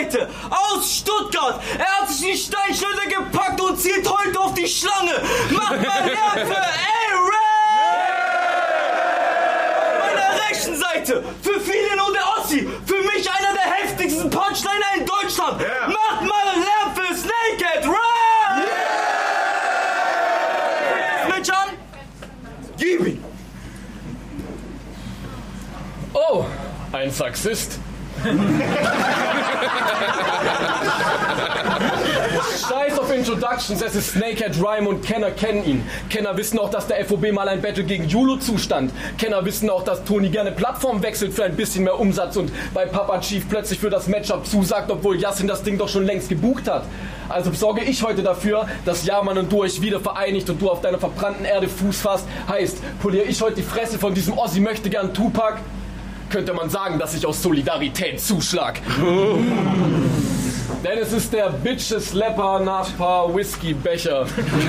Rechenseite aus Stuttgart. Er hat sich die Steinschleuder gepackt und zielt heute auf die Schlange. Macht mal Lärm für Aaron! Auf meiner rechten Seite, für viele nur der Ossi, für mich einer der heftigsten Punchliner in Deutschland. Yeah. Macht mal Lärm für Snakehead Run! Yeah. Mit John? Gib ihn! Oh, ein Sexist. Scheiß auf Introductions, es ist Snakehead Rhyme und Kenner kennen ihn. Kenner wissen auch, dass der FOB mal ein Battle gegen Julu zustand. Kenner wissen auch, dass Toni gerne Plattform wechselt für ein bisschen mehr Umsatz und bei Papa Chief plötzlich für das Matchup zusagt, obwohl Yassin das Ding doch schon längst gebucht hat. Also sorge ich heute dafür, dass Yaman und du euch wieder vereinigt und du auf deiner verbrannten Erde Fuß fasst. Heißt, poliere ich heute die Fresse von diesem Ossi möchte gern Tupac? Könnte man sagen, dass ich aus Solidarität zuschlag. Denn es ist der Bitches-Slapper nach paar Whisky-Becher.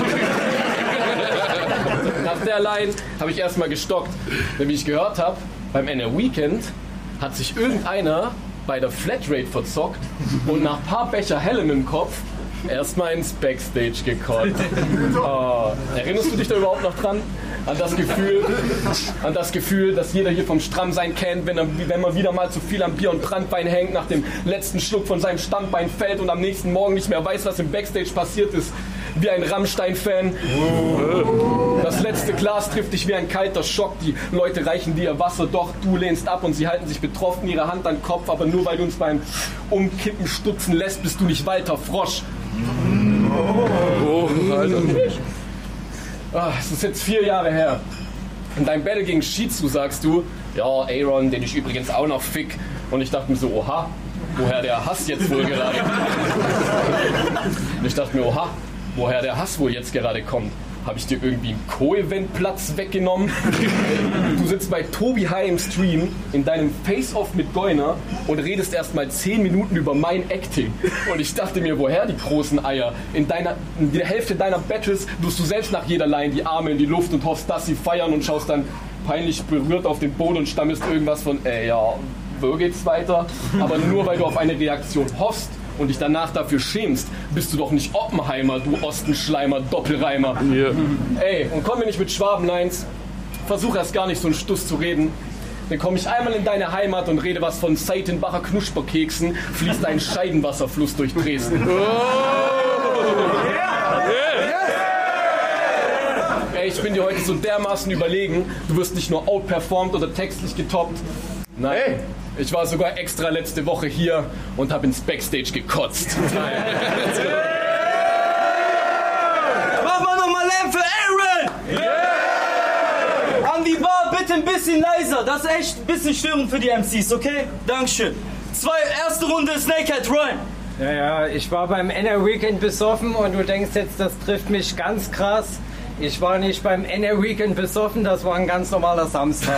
Nach der Line habe ich erstmal gestockt. Denn wie ich gehört habe, beim NR Weekend hat sich irgendeiner bei der Flatrate verzockt und nach paar Becher Hellen im Kopf erstmal ins Backstage gekotzt. Oh, erinnerst du dich da überhaupt noch dran? An das Gefühl, das jeder hier vom Strammsein kennt, wenn man wieder mal zu viel am Bier und Brandwein hängt, nach dem letzten Schluck von seinem Standbein fällt und am nächsten Morgen nicht mehr weiß, was im Backstage passiert ist. Wie ein Rammstein-Fan. Das letzte Glas trifft dich wie ein kalter Schock. Die Leute reichen dir Wasser, doch du lehnst ab und sie halten sich betroffen ihre Hand an den Kopf. Aber nur weil du uns beim Umkippen stutzen lässt, bist du nicht Walter Frosch. Oh, Alter. Es ist jetzt 4 Jahre her. In deinem Battle gegen Shizu sagst du, ja, Aaron, den ich übrigens auch noch fick. Und ich dachte mir so, oha, woher der Hass jetzt wohl gerade? Und ich dachte mir, oha, woher der Hass wohl jetzt gerade kommt. Habe ich dir irgendwie einen Co-Event-Platz weggenommen? Du sitzt bei Tobi High im Stream in deinem Face-Off mit Goiner und redest erst mal 10 Minuten über mein Acting. Und ich dachte mir, woher die großen Eier? In der Hälfte deiner Battles wirst du selbst nach jeder Line die Arme in die Luft und hoffst, dass sie feiern und schaust dann peinlich berührt auf den Boden und stammelst irgendwas von, ja, wo geht's weiter? Aber nur weil du auf eine Reaktion hoffst und dich danach dafür schämst, bist du doch nicht Oppenheimer, du Ostenschleimer, Doppelreimer. Yeah. Ey, und komm mir nicht mit Schwabenlines. Versuch erst gar nicht so einen Stuss zu reden. Dann komme ich einmal in deine Heimat und rede was von Seitenbacher Knusperkeksen, fließt ein Scheidenwasserfluss durch Dresden. Ey, ich bin dir heute so dermaßen überlegen, du wirst nicht nur outperformt oder textlich getoppt. Nein. Hey. Ich war sogar extra letzte Woche hier und habe ins Backstage gekotzt. Mach mal nochmal Lärm für Aaron! Yeah! An die Bar bitte ein bisschen leiser. Das ist echt ein bisschen störend für die MCs, okay? Dankeschön. Erste Runde Snakehead Rhyme. Ja, ich war beim NR Weekend besoffen und du denkst jetzt, das trifft mich ganz krass. Ich war nicht beim NR Weekend besoffen, das war ein ganz normaler Samstag.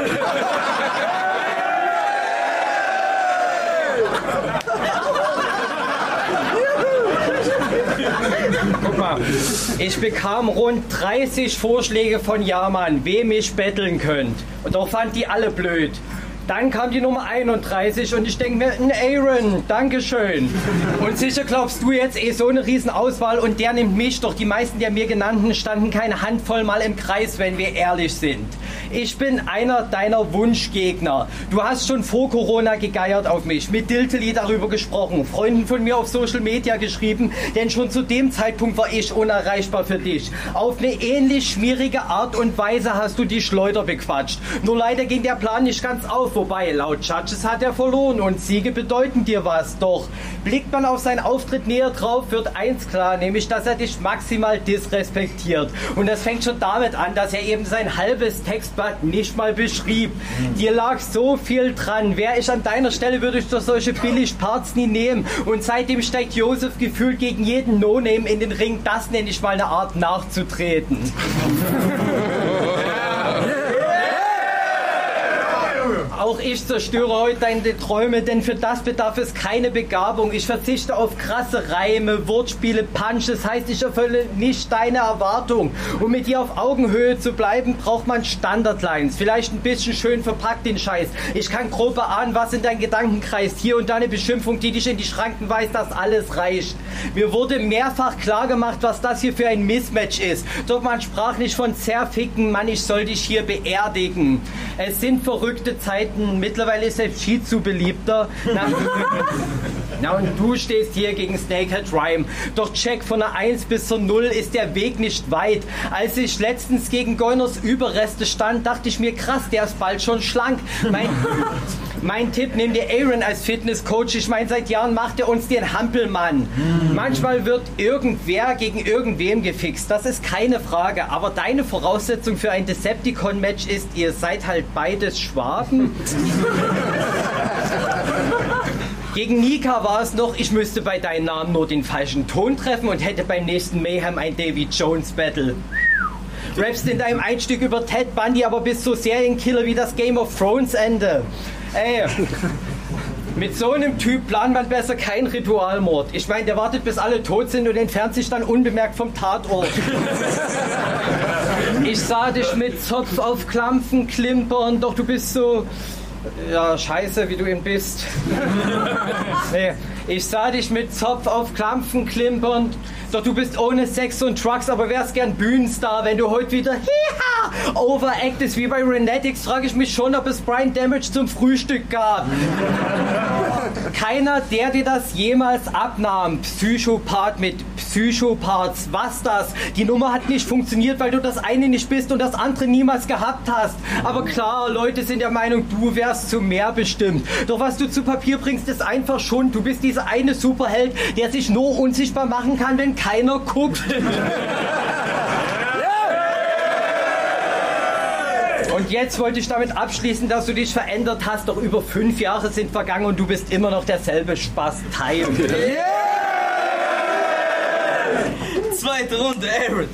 Guck mal, ich bekam rund 30 Vorschläge von Yaman, wem ich betteln könnt. Und doch fand die alle blöd. Dann kam die Nummer 31 und ich denke mir, ein Aaron, Dankeschön. Und sicher glaubst du jetzt so eine Riesenauswahl und der nimmt mich, doch die meisten der mir genannten standen keine Handvoll mal im Kreis, wenn wir ehrlich sind. Ich bin einer deiner Wunschgegner. Du hast schon vor Corona gegeiert auf mich, mit Dilteli darüber gesprochen, Freunden von mir auf Social Media geschrieben, denn schon zu dem Zeitpunkt war ich unerreichbar für dich. Auf eine ähnlich schmierige Art und Weise hast du die Schleuder bequatscht. Nur leider ging der Plan nicht ganz auf. Wobei, laut Judges hat er verloren und Siege bedeuten dir was. Doch blickt man auf seinen Auftritt näher drauf, wird eins klar, nämlich, dass er dich maximal disrespektiert. Und das fängt schon damit an, dass er eben sein halbes Textblatt nicht mal beschrieb. Dir lag so viel dran. Wäre ich an deiner Stelle, würde ich doch solche Billig-Parts nie nehmen. Und seitdem steigt Josef gefühlt gegen jeden No-Name in den Ring. Das nenne ich mal eine Art nachzutreten. Auch ich zerstöre heute deine Träume, denn für das bedarf es keine Begabung. Ich verzichte auf krasse Reime, Wortspiele, Punches, heißt, ich erfülle nicht deine Erwartung. Um mit dir auf Augenhöhe zu bleiben, braucht man Standardlines. Vielleicht ein bisschen schön verpackt den Scheiß. Ich kann grob erahnen, was in deinen Gedanken kreist. Hier und da eine Beschimpfung, die dich in die Schranken weist, dass alles reicht. Mir wurde mehrfach klar gemacht, was das hier für ein Mismatch ist. Doch man sprach nicht von zerficken, Mann, ich soll dich hier beerdigen. Es sind verrückte Zeiten, mittlerweile ist selbst Shizu beliebter. Na und du stehst hier gegen Snakehead Rhyme. Doch check, von der 1 bis zur 0 ist der Weg nicht weit. Als ich letztens gegen Goynors Überreste stand, dachte ich mir, krass, der ist bald schon schlank. Mein Tipp, nimm dir Aaron als Fitnesscoach. Ich meine, seit Jahren macht er uns den Hampelmann. Manchmal wird irgendwer gegen irgendwem gefixt, das ist keine Frage. Aber deine Voraussetzung für ein Decepticon-Match ist, ihr seid halt beides Schwaben. Gegen Nika war es noch, ich müsste bei deinen Namen nur den falschen Ton treffen und hätte beim nächsten Mayhem ein Davy Jones Battle. Rappst in deinem Einstück über Ted Bundy, aber bist so Serienkiller wie das Game of Thrones Ende. Ey, mit so einem Typ plant man besser keinen Ritualmord. Ich meine, der wartet, bis alle tot sind und entfernt sich dann unbemerkt vom Tatort. Ich sah dich mit Zopf auf Klampfen klimpern, doch du bist so... Ja, scheiße, wie du ihn bist. Nee, ich sah dich mit Zopf auf Klampfen klimpern, doch du bist ohne Sex und Drugs, aber wärst gern Bühnenstar, wenn du heute wieder overactest wie bei Renetics, frage ich mich schon, ob es Brian Damage zum Frühstück gab. Keiner, der dir das jemals abnahm. Psychopath mit Psychopaths, was das? Die Nummer hat nicht funktioniert, weil du das eine nicht bist und das andere niemals gehabt hast. Aber klar, Leute sind der Meinung, du wärst zu mehr bestimmt. Doch was du zu Papier bringst, ist einfach Schund. Du bist dieser eine Superheld, der sich nur unsichtbar machen kann, wenn keiner guckt. Und jetzt wollte ich damit abschließen, dass du dich verändert hast, doch über 5 Jahre sind vergangen und du bist immer noch derselbe Spaß-Teil. Yeah! Zweite Runde, Aaron.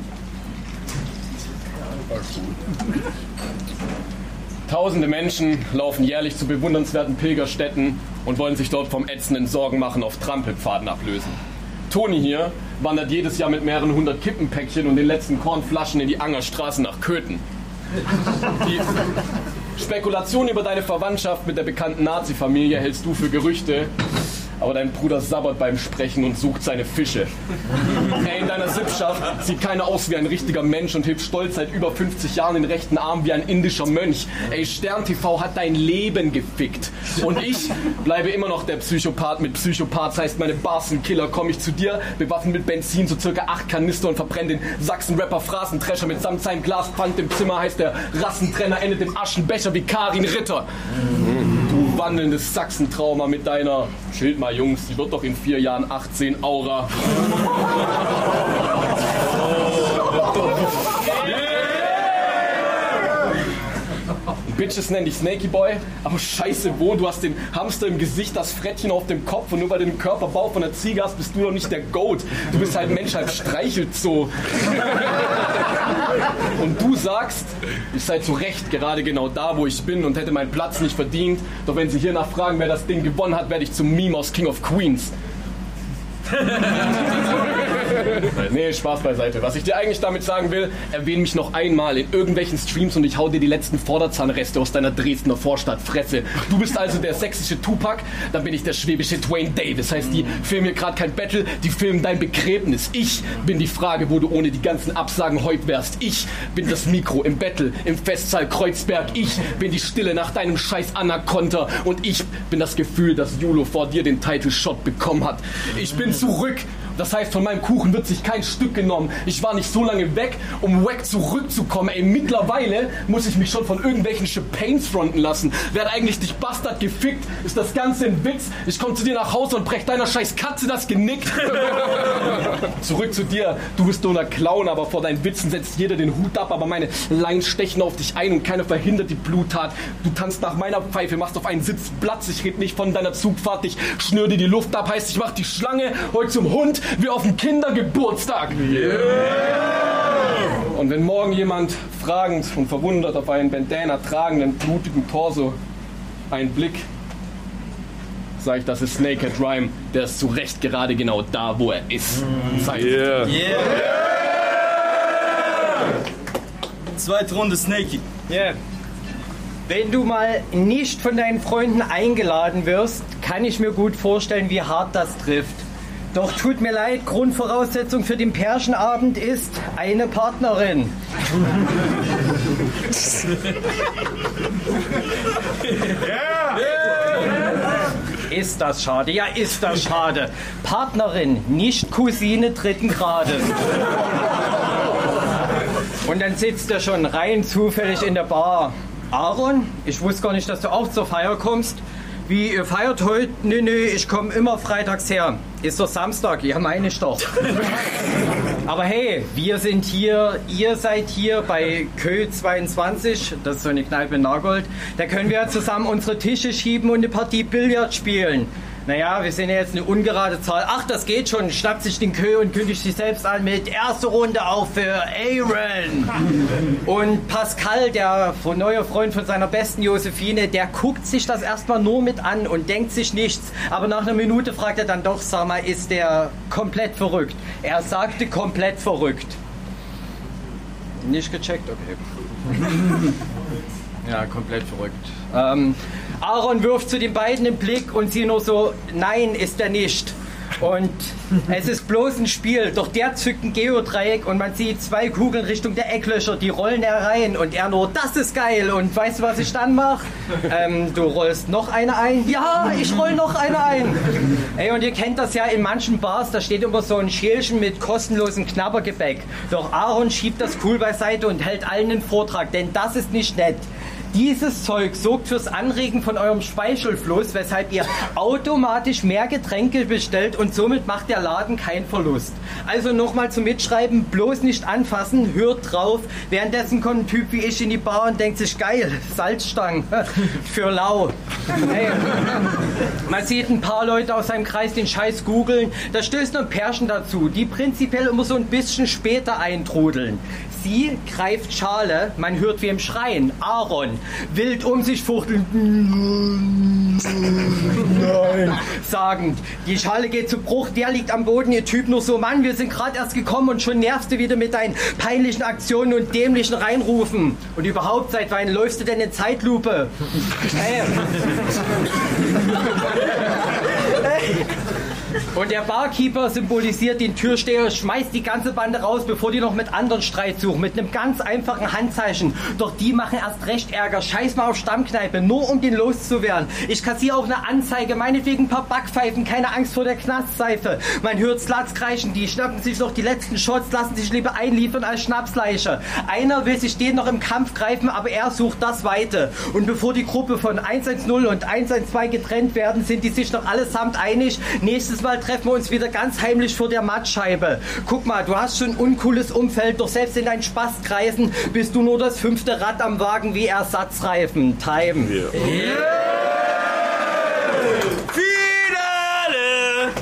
Tausende Menschen laufen jährlich zu bewundernswerten Pilgerstätten und wollen sich dort vom ätzenden Sorgenmachen auf Trampelpfaden ablösen. Toni hier wandert jedes Jahr mit mehreren 100 Kippenpäckchen und den letzten Kornflaschen in die Angerstraße nach Köthen. Die Spekulation über deine Verwandtschaft mit der bekannten Nazi-Familie hältst du für Gerüchte, aber dein Bruder sabbert beim Sprechen und sucht seine Fische. In deiner Sippschaft sieht keiner aus wie ein richtiger Mensch und hebt stolz seit über 50 Jahren den rechten Arm wie ein indischer Mönch. Stern TV hat dein Leben gefickt. Und ich bleibe immer noch der Psychopath mit Psychopath. Das heißt, meine Bars sind Killer. Komme ich zu dir, bewaffnet mit Benzin, so circa 8 Kanister und verbrenne den Sachsen-Rapper Phrasentrescher mitsamt seinem Glaspfand im Zimmer. Heißt der Rassentrenner, endet im Aschenbecher wie Karin Ritter. Du wandelndes Sachsentrauma mit deiner, schild mal Jungs, die wird doch in 4 Jahren 18, Aura. Bitches nennen dich Snakey Boy, aber scheiße wo, du hast den Hamster im Gesicht, das Frettchen auf dem Kopf und nur weil du den Körperbau von der Ziege hast, bist du doch nicht der Goat. Du bist halt Mensch, halt Streichelzoo. Und du sagst, ich sei zu Recht gerade genau da, wo ich bin und hätte meinen Platz nicht verdient. Doch wenn sie hier nachfragen, wer das Ding gewonnen hat, werde ich zum Meme aus King of Queens. Nee, Spaß beiseite. Was ich dir eigentlich damit sagen will, erwähne mich noch einmal in irgendwelchen Streams und ich hau dir die letzten Vorderzahnreste aus deiner Dresdner Vorstadtfresse. Du bist also der sächsische Tupac, dann bin ich der schwäbische Dwayne Davis. Heißt, die filmen hier gerade kein Battle, die filmen dein Begräbnis. Ich bin die Frage, wo du ohne die ganzen Absagen heut wärst. Ich bin das Mikro im Battle, im Festsaal Kreuzberg. Ich bin die Stille nach deinem scheiß Anaconda und ich bin das Gefühl, dass Julo vor dir den Title Shot bekommen hat. Ich bin zurück. Das heißt, von meinem Kuchen wird sich kein Stück genommen. Ich war nicht so lange weg, um wack zurückzukommen. Mittlerweile muss ich mich schon von irgendwelchen Champanes fronten lassen. Wer hat eigentlich dich Bastard gefickt? Ist das Ganze ein Witz? Ich komme zu dir nach Hause und brech deiner scheiß Katze das Genick. Zurück zu dir. Du bist nur ein Clown, aber vor deinen Witzen setzt jeder den Hut ab. Aber meine Lines stechen auf dich ein und keiner verhindert die Bluttat. Du tanzt nach meiner Pfeife, machst auf einen Sitz Platz. Ich red nicht von deiner Zugfahrt. Ich schnür dir die Luft ab. Heißt, ich mach die Schlange heute zum Hund wie auf dem Kindergeburtstag. Yeah. Und wenn morgen jemand fragend und verwundert auf einen Bandana tragenden, blutigen Torso einen Blick, sag ich, das ist Naked Rhyme, der ist zu Recht gerade genau da, wo er ist. Yeah. Zweite Runde Snakey. Yeah. Wenn du mal nicht von deinen Freunden eingeladen wirst, kann ich mir gut vorstellen, wie hart das trifft. Doch tut mir leid, Grundvoraussetzung für den Pärchenabend ist eine Partnerin. Ist das schade? Ja, ist das schade. Partnerin, nicht Cousine dritten Grades. Und dann sitzt er schon rein zufällig in der Bar. Aaron, ich wusste gar nicht, dass du auch zur Feier kommst. Wie, ihr feiert heute? Nee, ich komme immer freitags her. Ist doch Samstag, ja meine ich doch. Aber hey, wir sind hier, ihr seid hier bei Kö 22, das ist so eine Kneipe in Nagold. Da können wir zusammen unsere Tische schieben und eine Partie Billard spielen. Naja, wir sind ja jetzt eine ungerade Zahl. Ach, das geht schon. Schnappt sich den Kö und kündigt sich selbst an mit erste Runde auf für Aaron. Und Pascal, der neue Freund von seiner besten Josephine, der guckt sich das erstmal nur mit an und denkt sich nichts. Aber nach einer Minute fragt er dann doch, sag mal, ist der komplett verrückt? Er sagte komplett verrückt. Nicht gecheckt, okay. Ja, komplett verrückt. Aaron wirft zu den beiden den Blick und sie nur so, nein, ist er nicht. Und es ist bloß ein Spiel, doch der zückt ein Geodreieck und man sieht 2 Kugeln Richtung der Ecklöcher, die rollen herein und er nur, das ist geil. Und weißt du, was ich dann mache? Du rollst noch eine ein? Ja, ich roll noch eine ein. Ey, und ihr kennt das ja in manchen Bars, da steht immer so ein Schälchen mit kostenlosem Knabbergebäck. Doch Aaron schiebt das cool beiseite und hält allen einen Vortrag, denn das ist nicht nett. Dieses Zeug sorgt fürs Anregen von eurem Speichelfluss, weshalb ihr automatisch mehr Getränke bestellt und somit macht der Laden keinen Verlust. Also nochmal zum Mitschreiben, bloß nicht anfassen, hört drauf. Währenddessen kommt ein Typ wie ich in die Bar und denkt sich, geil, Salzstangen für lau. Hey. Man sieht ein paar Leute aus seinem Kreis den Scheiß googeln. Da stößt noch ein Pärchen dazu, die prinzipiell immer so ein bisschen später eintrudeln. Sie greift Schale, man hört wie im Schreien. Aaron, wild um sich fuchteln. Nein. Sagend, die Schale geht zu Bruch, der liegt am Boden, ihr Typ nur so, Mann, wir sind gerade erst gekommen und schon nervst du wieder mit deinen peinlichen Aktionen und dämlichen Reinrufen. Und überhaupt, seit wann läufst du denn in Zeitlupe? Hey. Und der Barkeeper symbolisiert den Türsteher, schmeißt die ganze Bande raus, bevor die noch mit anderen Streit suchen, mit einem ganz einfachen Handzeichen. Doch die machen erst recht Ärger, scheiß mal auf Stammkneipe, nur um den loszuwerden. Ich kassiere auch eine Anzeige, meinetwegen ein paar Backpfeifen, keine Angst vor der Knastseife. Man hört Sluts kreischen, die schnappen sich noch die letzten Shots, lassen sich lieber einliefern als Schnapsleiche. Einer will sich den noch im Kampf greifen, aber er sucht das Weite. Und bevor die Gruppe von 110 und 112 getrennt werden, sind die sich noch allesamt einig, nächstes Mal treffen wir uns wieder ganz heimlich vor der Mattscheibe. Guck mal, du hast schon ein uncooles Umfeld, doch selbst in deinen Spaßkreisen bist du nur das 5. Rad am Wagen wie Ersatzreifen. Time. Yeah. Finale!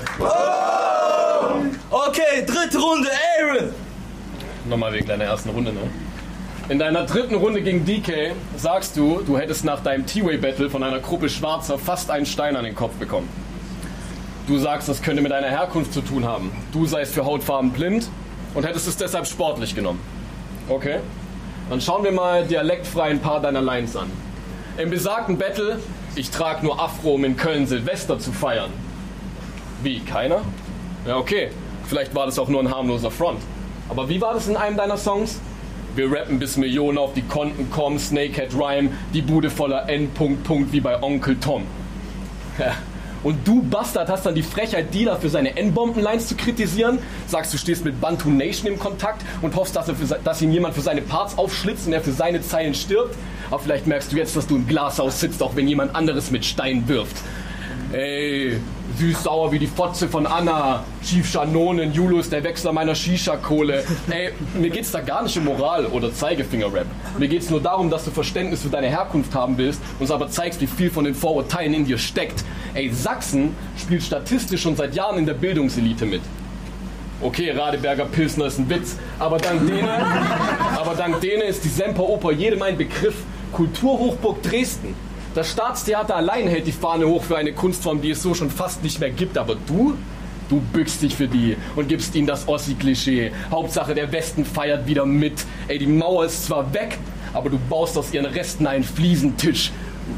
Oh! Okay, dritte Runde, Aaron! Nochmal wegen deiner ersten Runde, ne? In deiner dritten Runde gegen DK sagst du, du hättest nach deinem T-Way-Battle von einer Gruppe Schwarzer fast einen Stein an den Kopf bekommen. Du sagst, das könnte mit deiner Herkunft zu tun haben. Du seist für Hautfarben blind und hättest es deshalb sportlich genommen. Okay? Dann schauen wir mal dialektfrei ein paar deiner Lines an. Im besagten Battle, ich trage nur Afro, um in Köln Silvester zu feiern. Wie, keiner? Ja, okay. Vielleicht war das auch nur ein harmloser Front. Aber wie war das in einem deiner Songs? Wir rappen bis Millionen auf die Konten kommen, Snakehead Rhyme, die Bude voller N. wie bei Onkel Tom. Ja. Und du, Bastard, hast dann die Frechheit, Dealer für seine N-Bomben-Lines zu kritisieren? Sagst, du stehst mit Bantu Nation im Kontakt und hoffst, dass ihn jemand für seine Parts aufschlitzt und er für seine Zeilen stirbt? Aber vielleicht merkst du jetzt, dass du im Glashaus sitzt, auch wenn jemand anderes mit Steinen wirft. Ey, süß-sauer wie die Fotze von Anna, Chief Shanonen, Julius, der Wechsler meiner Shisha-Kohle. Ey, mir geht's da gar nicht um Moral oder Zeigefinger-Rap. Mir geht's nur darum, dass du Verständnis für deine Herkunft haben willst, uns aber zeigst, wie viel von den Vorurteilen in dir steckt. Ey, Sachsen spielt statistisch schon seit Jahren in der Bildungselite mit. Okay, Radeberger Pilsner ist ein Witz, aber dank denen ist die Semperoper jedem ein Begriff. Kulturhochburg Dresden. Das Staatstheater allein hält die Fahne hoch für eine Kunstform, die es so schon fast nicht mehr gibt. Aber du bückst dich für die und gibst ihnen das Ossi-Klischee. Hauptsache, der Westen feiert wieder mit. Ey, die Mauer ist zwar weg, aber du baust aus ihren Resten einen Fliesentisch.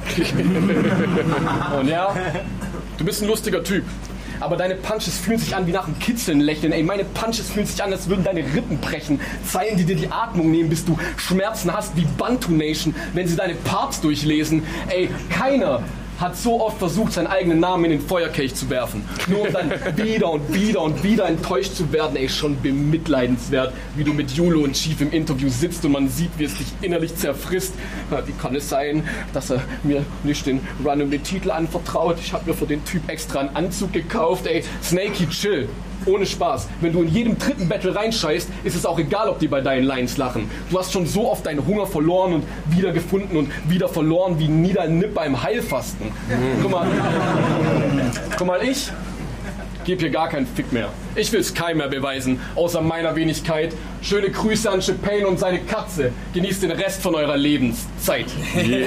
Und ja, du bist ein lustiger Typ. Aber deine Punches fühlen sich an wie nach einem Kitzeln lächeln. Ey, meine Punches fühlen sich an, als würden deine Rippen brechen. Zeilen, die dir die Atmung nehmen, bis du Schmerzen hast wie Bantu Nation, wenn sie deine Parts durchlesen. Ey, keiner hat so oft versucht, seinen eigenen Namen in den Feuerkelch zu werfen. Nur um dann wieder und wieder und wieder enttäuscht zu werden. Ey, schon bemitleidenswert, wie du mit Yulo und Chief im Interview sitzt und man sieht, wie es dich innerlich zerfrisst. Wie kann es sein, dass er mir nicht den Run-and-Titel anvertraut? Ich habe mir für den Typ extra einen Anzug gekauft. Ey, Snakey, chill. Ohne Spaß. Wenn du in jedem dritten Battle reinscheißt, ist es auch egal, ob die bei deinen Lines lachen. Du hast schon so oft deinen Hunger verloren und wieder gefunden und wieder verloren wie Niedernipp beim Heilfasten. Guck mal, ich gebe hier gar keinen Fick mehr. Ich will es keinem mehr beweisen, außer meiner Wenigkeit. Schöne Grüße an Chapane und seine Katze. Genießt den Rest von eurer Lebenszeit. Yeah.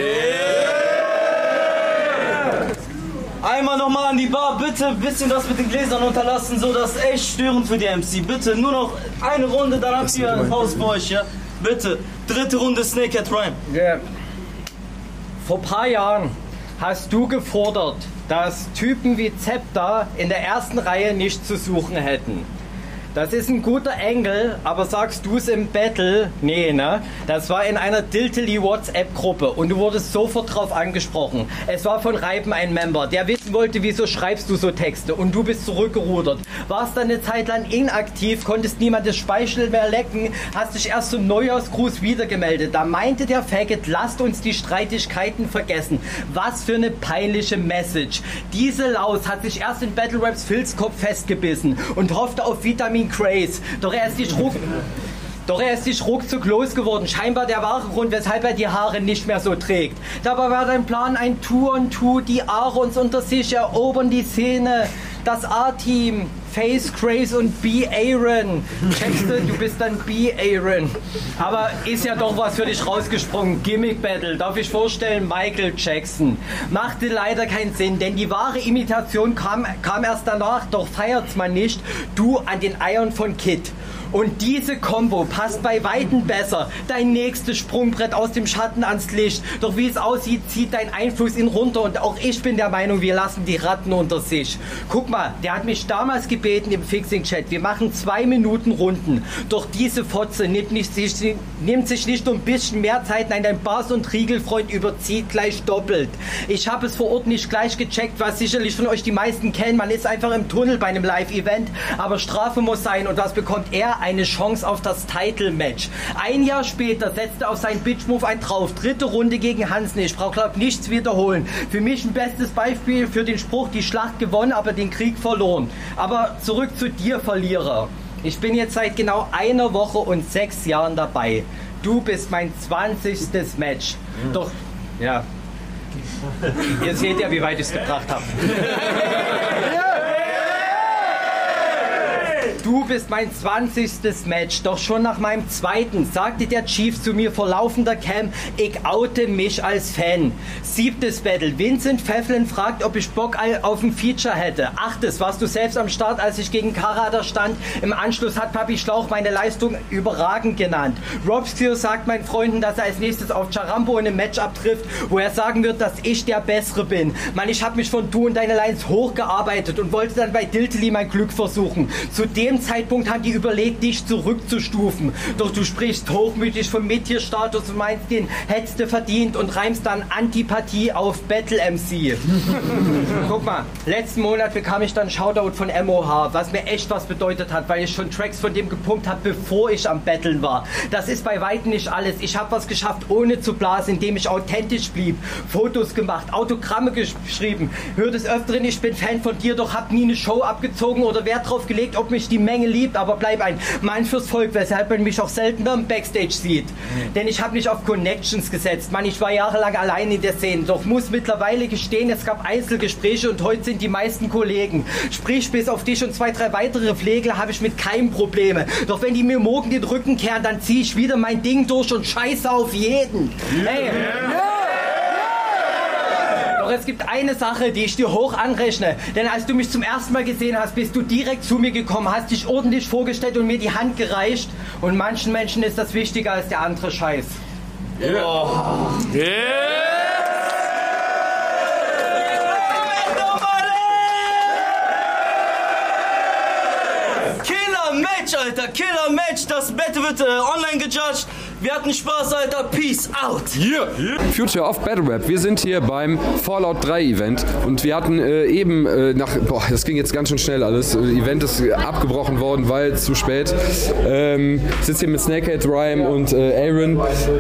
Einmal nochmal an die Bar, bitte ein bisschen das mit den Gläsern unterlassen, so das ist echt störend für die MC. Bitte, nur noch eine Runde, dann habt ihr ein Haus für euch, ja? Bitte, 3. Runde Snakehead Rhyme. Yeah. Vor ein paar Jahren hast du gefordert, dass Typen wie Zepter in der ersten Reihe nicht zu suchen hätten. Das ist ein guter Engel, aber sagst du es im Battle? Nee, ne? Das war in einer Diltily WhatsApp-Gruppe und du wurdest sofort drauf angesprochen. Es war von Reiben ein Member, der wissen wollte, wieso schreibst du so Texte und du bist zurückgerudert. Warst dann eine Zeit lang inaktiv, konntest niemandes Speichel mehr lecken, hast dich erst zum Neujahrsgruß wiedergemeldet. Da meinte der Faggot, lasst uns die Streitigkeiten vergessen. Was für eine peinliche Message. Diese Laus hat sich erst in Battle Raps Filzkopf festgebissen und hoffte auf Vitamin Craze. Doch er ist nicht ruckzuck losgeworden. Scheinbar der wahre Grund, weshalb er die Haare nicht mehr so trägt. Dabei war dein Plan ein Two-on-Two. Die Aarons unter sich erobern die Szene. Das A-Team, Face, Craze und B-Aaron. Checkst du bist dann B-Aaron. Aber ist ja doch was für dich rausgesprungen. Gimmick Battle, darf ich vorstellen, Michael Jackson. Machte leider keinen Sinn, denn die wahre Imitation kam erst danach, doch feiert's man nicht. Du an den Eiern von Kid. Und diese Combo passt bei Weitem besser. Dein nächstes Sprungbrett aus dem Schatten ans Licht. Doch wie es aussieht, zieht dein Einfluss ihn runter. Und auch ich bin der Meinung, wir lassen die Ratten unter sich. Guck mal, der hat mich damals gebeten im Fixing-Chat. Wir machen 2 Minuten Runden. Doch diese Fotze nimmt sich nicht nur ein bisschen mehr Zeit. Nein, dein Bars- und Riegelfreund überzieht gleich doppelt. Ich habe es vor Ort nicht gleich gecheckt, was sicherlich von euch die meisten kennen. Man ist einfach im Tunnel bei einem Live-Event. Aber Strafe muss sein. Und was bekommt er? Eine Chance auf das Title-Match. Ein Jahr später setzte auf seinen Bitch-Move ein drauf. 3. Runde gegen Hansen. Ich brauche, glaube nichts wiederholen. Für mich ein bestes Beispiel für den Spruch, die Schlacht gewonnen, aber den Krieg verloren. Aber zurück zu dir, Verlierer. Ich bin jetzt seit genau 1 Woche und 6 Jahren dabei. Du bist mein 20. Match. Doch, ja. Ihr seht ja, wie weit ich es gebracht habe. Du bist mein 20. Match, doch schon nach meinem 2. sagte der Chief zu mir vor laufender Cam, ich oute mich als Fan. 7. Battle, Vincent Pfefflin fragt, ob ich Bock auf ein Feature hätte. 8. warst du selbst am Start, als ich gegen Karada stand. Im Anschluss hat Papi Schlauch meine Leistung überragend genannt. Robskio sagt meinen Freunden, dass er als nächstes auf Charambo in einem Matchup trifft, wo er sagen wird, dass ich der Bessere bin. Mann, ich habe mich von du und deine Lines hochgearbeitet und wollte dann bei Diltily mein Glück versuchen. Zu dem Zeitpunkt haben die überlegt, dich zurückzustufen. Doch du sprichst hochmütig vom Mid-Tier-Status und meinst, den hättest du verdient und reimst dann Antipathie auf Battle MC. Guck mal, letzten Monat bekam ich dann Shoutout von MOH, was mir echt was bedeutet hat, weil ich schon Tracks von dem gepumpt habe, bevor ich am Battlen war. Das ist bei weitem nicht alles. Ich habe was geschafft, ohne zu blasen, indem ich authentisch blieb. Fotos gemacht, Autogramme geschrieben. Hör des Öfteren, ich bin Fan von dir, doch hab nie eine Show abgezogen oder Wert drauf gelegt, ob mich die Menge liebt, aber bleib ein Mann fürs Volk, weshalb man mich auch seltener im Backstage sieht. Denn ich habe nicht auf Connections gesetzt. Mann, ich war jahrelang allein in der Szene, doch muss mittlerweile gestehen, es gab Einzelgespräche und heute sind die meisten Kollegen. Sprich, bis auf dich und 2, 3 weitere Pflegler habe ich mit keinem Probleme. Doch wenn die mir morgen den Rücken kehren, dann ziehe ich wieder mein Ding durch und scheiße auf jeden. Hey. es gibt eine Sache, die ich dir hoch anrechne. Denn als du mich zum ersten Mal gesehen hast, bist du direkt zu mir gekommen, hast dich ordentlich vorgestellt und mir die Hand gereicht. Und manchen Menschen ist das wichtiger als der andere Scheiß. Yeah. Oh. Yeah. Killer-Match, Alter, Killer-Match. Das Battle wird online gejudged. Wir hatten Spaß, Alter. Peace out. Yeah. Future of Battle Rap. Wir sind hier beim Fallout 3 Event und wir hatten das ging jetzt ganz schön schnell alles. Event ist abgebrochen worden, weil zu spät. Sitzt hier mit Snakehead, Rhyme und Aaron.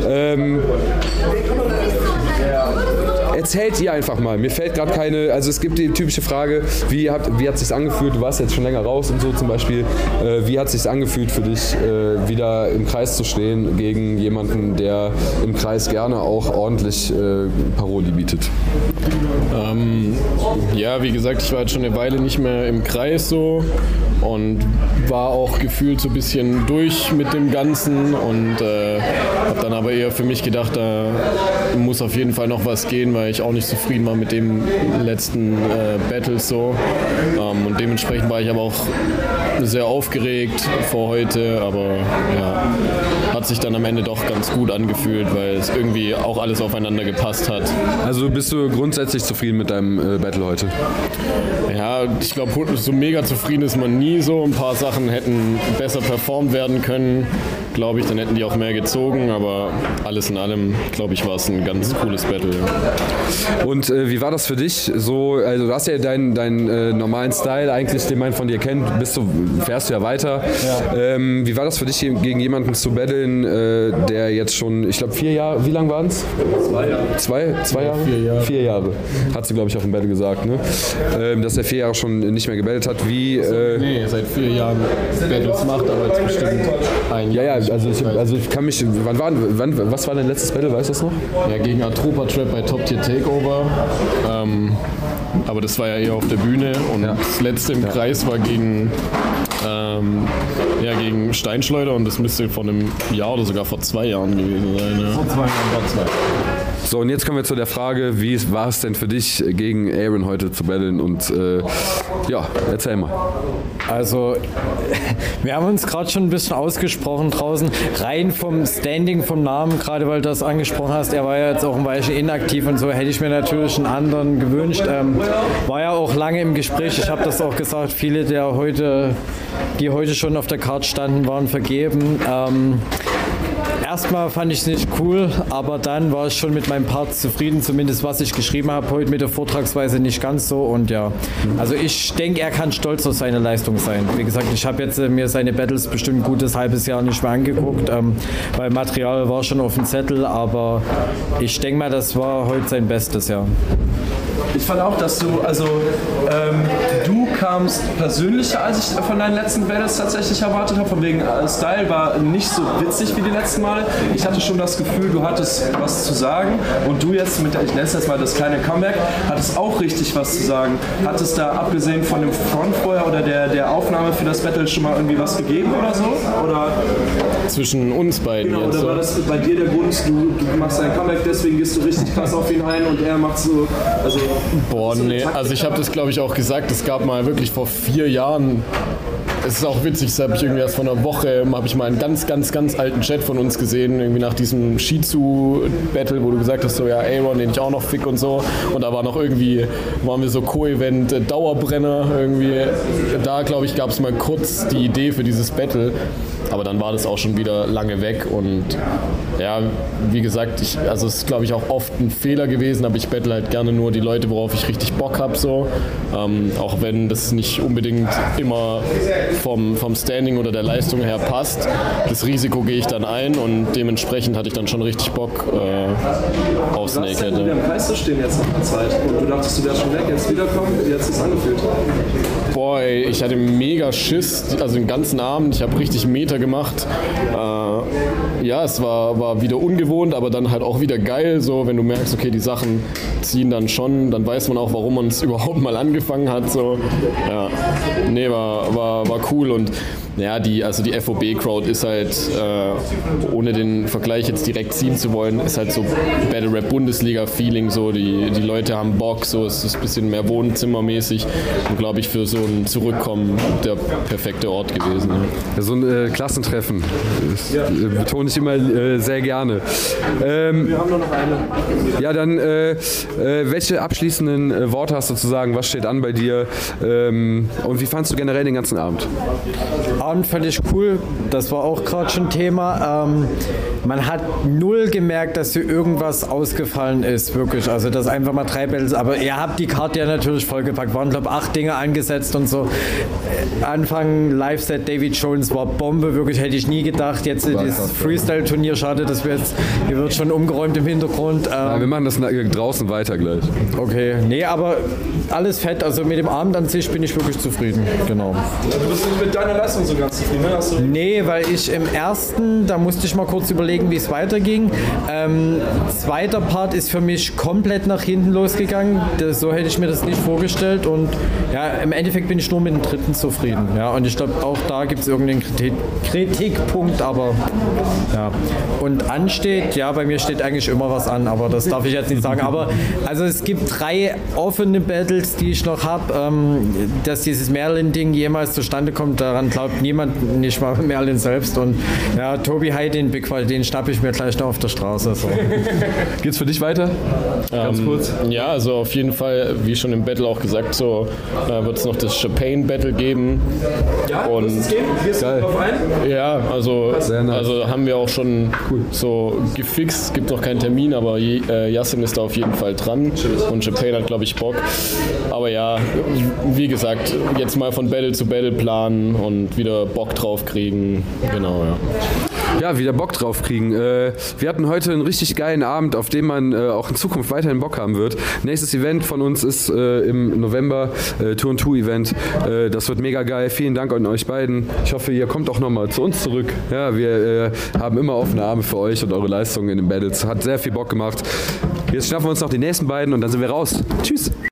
Erzählt ihr einfach mal. Mir fällt gerade keine, also es gibt die typische Frage, wie hat es sich angefühlt? Du warst jetzt schon länger raus und so zum Beispiel. Wie hat es sich angefühlt für dich, wieder im Kreis zu stehen gegen jemanden, der im Kreis gerne auch ordentlich Paroli bietet? Ja, wie gesagt, ich war jetzt schon eine Weile nicht mehr im Kreis so und war auch gefühlt so ein bisschen durch mit dem Ganzen und habe dann aber eher für mich gedacht, da muss auf jeden Fall noch was gehen, weil ich auch nicht zufrieden war mit dem letzten Battle so. Und dementsprechend war ich aber auch sehr aufgeregt vor heute, aber ja, hat sich dann am Ende doch ganz gut angefühlt, weil es irgendwie auch alles aufeinander gepasst hat. Also bist du grundsätzlich zufrieden mit deinem Battle heute? Ja, ich glaube, so mega zufrieden ist man nie so. Ein paar Sachen hätten besser performt werden können, glaube ich, dann hätten die auch mehr gezogen, aber alles in allem, glaube ich, war es ein ganz cooles Battle. Ja. Und wie war das für dich? So, also du hast ja deinen normalen Style eigentlich, den man von dir kennt, fährst du ja weiter. Ja. Wie war das für dich, gegen jemanden zu battlen, der jetzt schon, ich glaube 4 Jahre, wie lang waren es? 2 Jahre. 2 Jahre? 4 Jahre. 4 Jahre. Hat sie, glaube ich, auf dem Battle gesagt, ne? Dass er 4 Jahre schon nicht mehr gebattelt hat. Wie, nee, seit 4 Jahren Battles macht, aber jetzt bestimmt ein Jahr. Ja, also ich kann mich, was war dein letztes Battle, weißt du das noch? Ja, gegen Atropa Trap bei Top Tier Takeover. Aber das war ja eher auf der Bühne und das letzte im Kreis war gegen Steinschleuder und das müsste vor einem Jahr oder sogar vor 2 Jahren gewesen sein. Ja. Vor 2 Jahren. So, und jetzt kommen wir zu der Frage, wie war es denn für dich, gegen Aaron heute zu battlen? Und erzähl mal. Also, wir haben uns gerade schon ein bisschen ausgesprochen draußen, rein vom Standing, vom Namen, gerade weil du das angesprochen hast, er war ja jetzt auch ein Weilchen inaktiv und so, hätte ich mir natürlich einen anderen gewünscht. War ja auch lange im Gespräch, ich habe das auch gesagt, viele, die heute schon auf der Karte standen, waren vergeben. Erstmal fand ich es nicht cool, aber dann war ich schon mit meinem Part zufrieden, zumindest was ich geschrieben habe, heute mit der Vortragsweise nicht ganz so und ja, also ich denke, er kann stolz auf seine Leistung sein. Wie gesagt, ich habe jetzt mir seine Battles bestimmt ein gutes halbes Jahr nicht mehr angeguckt, weil Material war schon auf dem Zettel, aber ich denke mal, das war heute sein Bestes, ja. Ich fand auch, dass du kamst persönlicher, als ich von deinen letzten Battles tatsächlich erwartet habe. Von wegen Style war nicht so witzig wie die letzten Mal. Ich hatte schon das Gefühl, du hattest was zu sagen und du jetzt ich nenne es jetzt mal das kleine Comeback, hattest auch richtig was zu sagen. Hattest da abgesehen von dem Frontfeuer oder der Aufnahme für das Battle schon mal irgendwie was gegeben oder so? Oder zwischen uns beiden. Genau, jetzt, oder war das bei dir der Grund, du machst dein Comeback, deswegen gehst du richtig krass auf ihn ein und er macht so, also... Boah, nee, also ich habe das glaube ich auch gesagt, es gab mal wirklich vor 4 Jahren, es ist auch witzig, das habe ich irgendwie erst vor einer Woche, habe ich mal einen ganz alten Chat von uns gesehen, irgendwie nach diesem Shizu-Battle, wo du gesagt hast, so ja, Aaron, den ich auch noch fick und so, und da war noch irgendwie, waren wir so Co-Event Dauerbrenner irgendwie, da glaube ich gab es mal kurz die Idee für dieses Battle, aber dann war das auch schon wieder lange weg und ja, wie gesagt, es ist glaube ich auch oft ein Fehler gewesen, aber ich battle halt gerne nur die Leute, worauf ich richtig Bock habe, so, auch wenn das nicht unbedingt immer vom Standing oder der Leistung her passt. Das Risiko gehe ich dann ein und dementsprechend hatte ich dann schon richtig Bock auf Snakehead. Du warst im Preis zu stehen jetzt nach der Zeit und du dachtest, du wärst schon weg, jetzt wiederkommen, wie hat es sich angefühlt? Boah, ey, ich hatte mega Schiss, also den ganzen Abend, ich habe richtig Meter gemacht. Ja, es war war wieder ungewohnt, aber dann halt auch wieder geil, so wenn du merkst, okay, die Sachen ziehen dann schon, dann weiß man auch, warum man es überhaupt mal angefangen hat, so. Ja, nee, war cool und ja, die FOB-Crowd ist halt, ohne den Vergleich jetzt direkt ziehen zu wollen, ist halt so Battle Rap Bundesliga-Feeling, so die Leute haben Bock, so es ist ein bisschen mehr wohnzimmermäßig und glaube ich für so ein Zurückkommen der perfekte Ort gewesen. Ja. So ein Klassentreffen, das betone ich immer sehr gerne. Wir haben nur noch eine. Ja, dann welche abschließenden Worte hast du zu sagen? Was steht an bei dir? Und wie fandst du generell den ganzen Abend? Abend fand ich cool, das war auch gerade schon Thema. Man hat null gemerkt, dass hier irgendwas ausgefallen ist, wirklich. Also das einfach mal 3 Battles, aber ihr habt die Karte ja natürlich vollgepackt. Waren, glaube ich, 8 Dinge angesetzt und so. Anfang Live-Set David Jones war Bombe, wirklich hätte ich nie gedacht. Jetzt das Freestyle-Turnier, schade, dass hier wird schon umgeräumt im Hintergrund. Ja, wir machen das draußen weiter gleich. Okay, nee, aber alles fett. Also mit dem Abend an sich bin ich wirklich zufrieden, genau. Du bist nicht mit deiner Leistung so ganz zufrieden, ne? Nee, weil ich im ersten, da musste ich mal kurz überlegen, wie es weiterging. Zweiter Part ist für mich komplett nach hinten losgegangen. So hätte ich mir das nicht vorgestellt und ja, im Endeffekt bin ich nur mit dem dritten zufrieden. Ja, und ich glaube, auch da gibt es irgendeinen Kritikpunkt, aber ja. Und ansteht, ja, bei mir steht eigentlich immer was an, aber das darf ich jetzt nicht sagen. Aber also es gibt 3 offene Battles, die ich noch habe. Dass dieses Merlin-Ding jemals zustande kommt, daran glaubt niemand, nicht mal Merlin selbst. Und ja, Tobi Heidin, den schnappe ich mir gleich noch auf der Straße. So. Geht's für dich weiter? Ganz kurz. Ja, also auf jeden Fall, wie schon im Battle auch gesagt, so wird es noch das Chapane-Battle geben. Ja, und wird es geben? Gehst du drauf ein? Ja, also haben wir auch schon so gefixt. Es gibt noch keinen Termin, aber Yassin ist da auf jeden Fall dran und Chapane hat, glaube ich, Bock. Aber ja, wie gesagt, jetzt mal von Battle zu Battle planen und wieder Bock drauf kriegen. Genau, ja. Ja, wieder Bock drauf kriegen. Wir hatten heute einen richtig geilen Abend, auf den man auch in Zukunft weiterhin Bock haben wird. Nächstes Event von uns ist im November, Tour & Two Event. Das wird mega geil. Vielen Dank an euch beiden. Ich hoffe, ihr kommt auch nochmal zu uns zurück. Ja, wir haben immer offene Arme für euch und eure Leistungen in den Battles. Hat sehr viel Bock gemacht. Jetzt schnappen wir uns noch die nächsten beiden und dann sind wir raus. Tschüss.